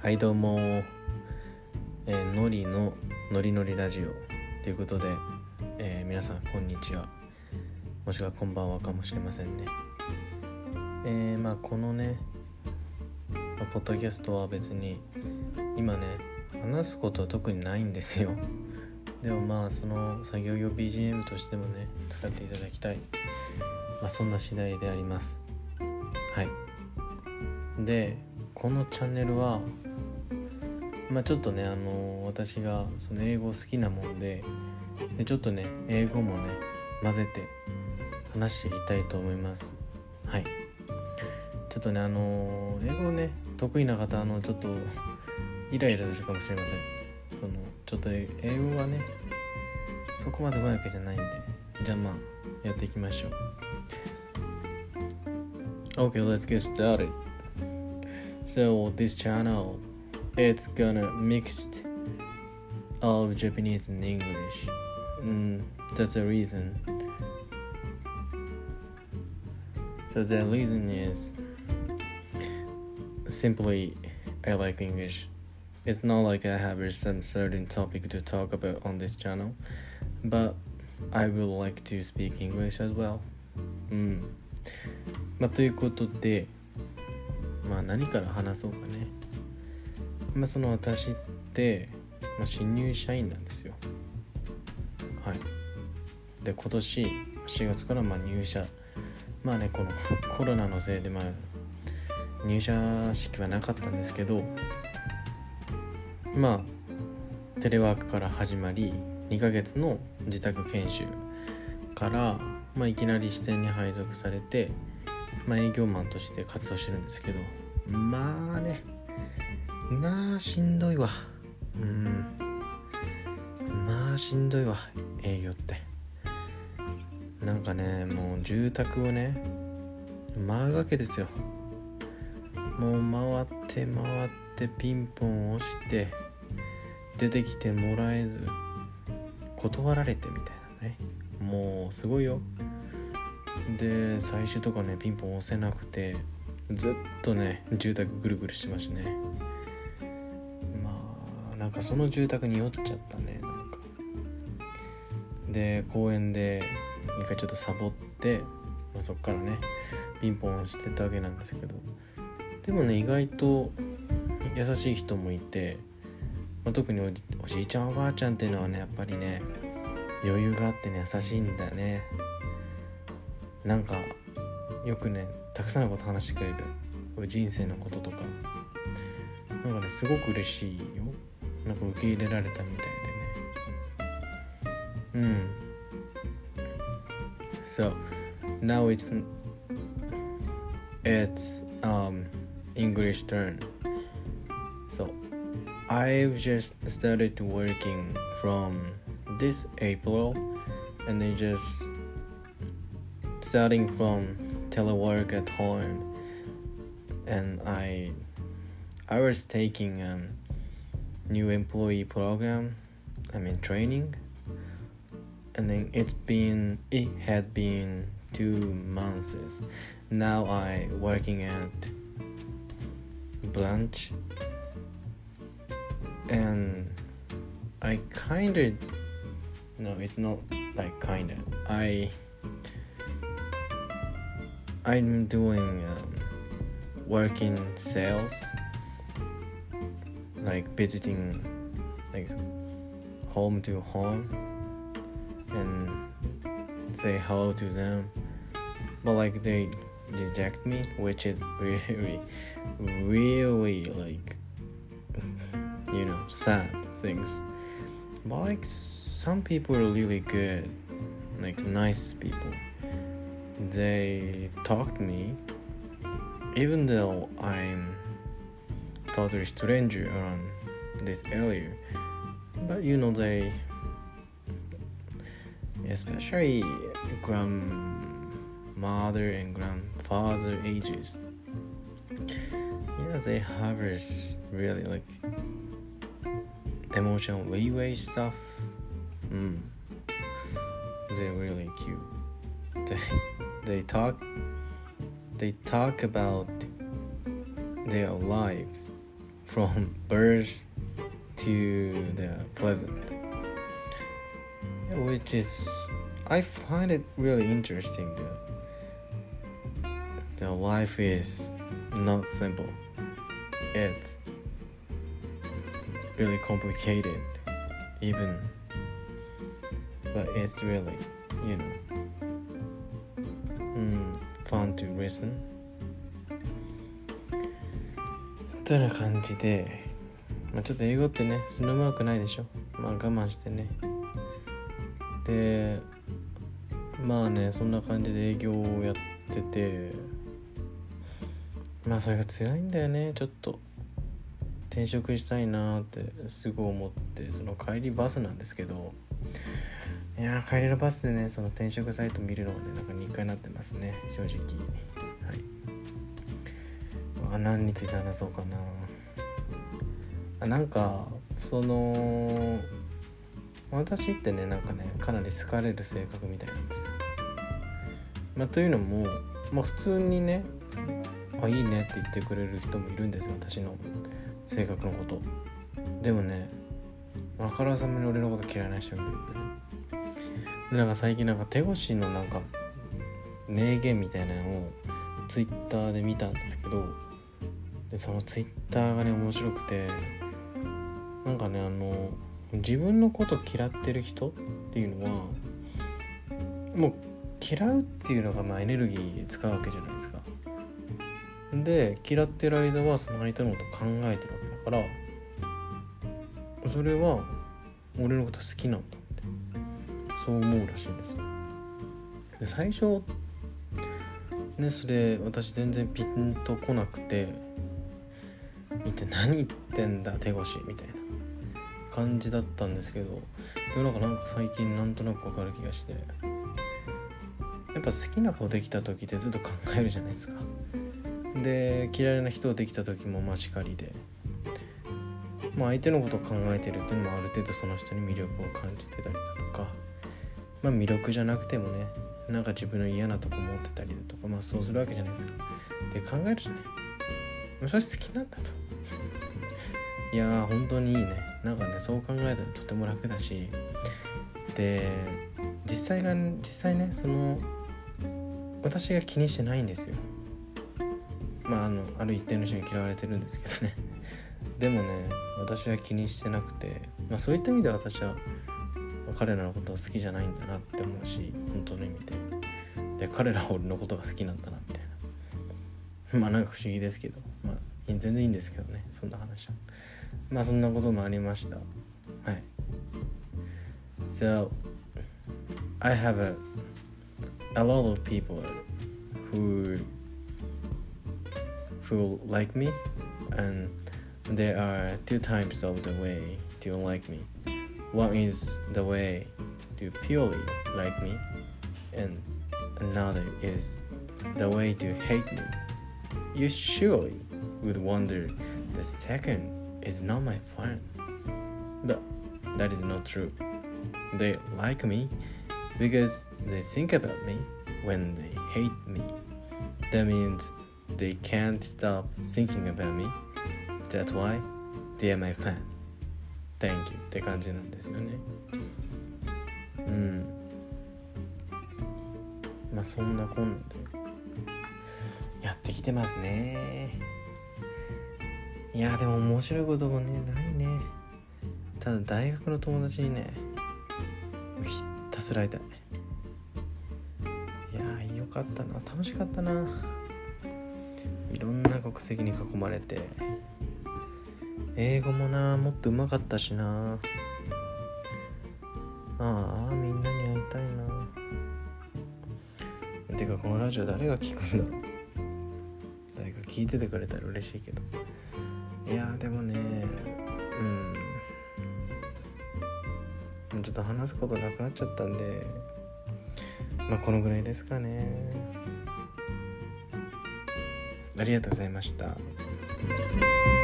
はいどうも、のりののりのりラジオということで、皆さんこんにちは、もしくはこんばんはかもしれませんね。このね、ポッドキャストは別に今ね話すことは特にないんですよ。でもその作業用 BGM としてもね使っていただきたい、そんな次第であります。はい。でこのチャンネルはちょっとね私がその英語好きなもんでちょっとね英語もね混ぜて話していきたいと思います。はい。ちょっとね英語ね得意な方ちょっとイライラするかもしれません。ちょっと英語はねそこまで上手いわけじゃないんで、じゃあやっていきましょう。 Okay, let's get started. So this channel, it's gonna mix of Japanese and English. That's the reason. So the reason is simply I like English. It's not like I have some certain topic to talk about on this channel, but I would like to speak English as well. ということで何から話そうかね。その私って、新入社員なんですよ。はい。で今年4月から入社。このコロナのせいで入社式はなかったんですけど、テレワークから始まり2ヶ月の自宅研修からいきなり支店に配属されて、営業マンとして活動してるんですけど、しんどいわ。しんどいわ営業って。もう住宅をね回るわけですよ。もう回ってピンポン押して出てきてもらえず断られてみたいなね。もうすごいよ。で最終とかねピンポン押せなくてずっとね住宅ぐるぐるしてましたね。その住宅に酔っちゃったね。で公園で一回ちょっとサボって、そっからねピンポンしてたわけなんですけど、でもね意外と優しい人もいて、特におじいちゃんおばあちゃんっていうのはねやっぱりね余裕があってね優しいんだよね。よくねたくさんのこと話してくれる。人生のこととかすごく嬉しいよ。受け入れられたみたいでね。So now it's English turn. So I've just started working from this April, and they just starting from telework at home, and I was taking new employee program, training, and then it had been 2 months. Now I working at branch, and I it's not like I'm doing working sales, visiting home to home and say hello to them, but they reject me, which is really sad things. But some people are really good, nice people. They talk to me even though I'm totally stranger around this area, but they, especially grandmother and grandfather ages, they have this really emotional leeway stuff. They're really cute. They talk about their lives from birth to the present, which is I find it really interesting that the life is not simple. It's really complicated even, but it's really, fun to listen というような感じで、ちょっと英語ってねそんなうまくないでしょ。我慢してね。でそんな感じで営業をやってて、それが辛いんだよね。ちょっと転職したいなってすごい思って、その帰りバスなんですけど、帰りのバスでねその転職サイト見るのがねなんか日課になってますね、正直。何について話そうかな。なんかその私ってねかなり好かれる性格みたいなんですよ。というのも普通にねいいねって言ってくれる人もいるんですよ、私の性格のこと。でもねあからさまに俺のこと嫌いな人がいるよね。で最近手越の名言みたいなのをツイッターで見たんですけど、でそのツイッターがね面白くて、自分のこと嫌ってる人っていうのはもう嫌うっていうのがエネルギー使うわけじゃないですか。で嫌ってる間はその相手のこと考えてるわけだから、それは俺のこと好きなんだってそう思うらしいんですよ。で最初ねそれ私全然ピンとこなくて、見て何言ってんだ手越みたいな感じだったんですけど、でもなんか最近なんとなく分かる気がして、やっぱ好きな子できた時ってずっと考えるじゃないですか。で嫌いな人できた時もしかりで、相手のことを考えてるっていうのもある程度その人に魅力を感じてたりだとか、魅力じゃなくてもね自分の嫌なとこ持ってたりだとかそうするわけじゃないですか。で考えるじゃない、それ好きなんだと。いや本当にいいね。そう考えたらとても楽だし、で実際ねその私が気にしてないんですよ。ある一定の人に嫌われてるんですけどね。でもね私は気にしてなくて、そういった意味で私は彼らのことは好きじゃないんだなって思うし、本当の意味で彼らは俺のことが好きなんだなみたいな。不思議ですけど、全然いいんですけどね、そんな話は。そんなこともありました。So I have a lot of people who like me, and there are two types of the way to like me. One is the way to purely like me, and another is the way to hate me. You surely would wonder the second is not my friend, but that is not true. They like me because they think about me when they hate me. That means they can't stop thinking about me. That's why they are my fan. Thank you って感じなんですよね。そんなこんなでやってきてますね。いやでも面白いこともねないね。ただ大学の友達にねひたすら会いたい。いやよかったな、楽しかったな。いろんな国籍に囲まれて、英語ももっと上手かったしな。みんなに会いたいな。てかこのラジオ誰が聞くんだろう。誰か聞いててくれたら嬉しいけど。いやでもねちょっと話すことなくなっちゃったんで、このぐらいですかね。ありがとうございました。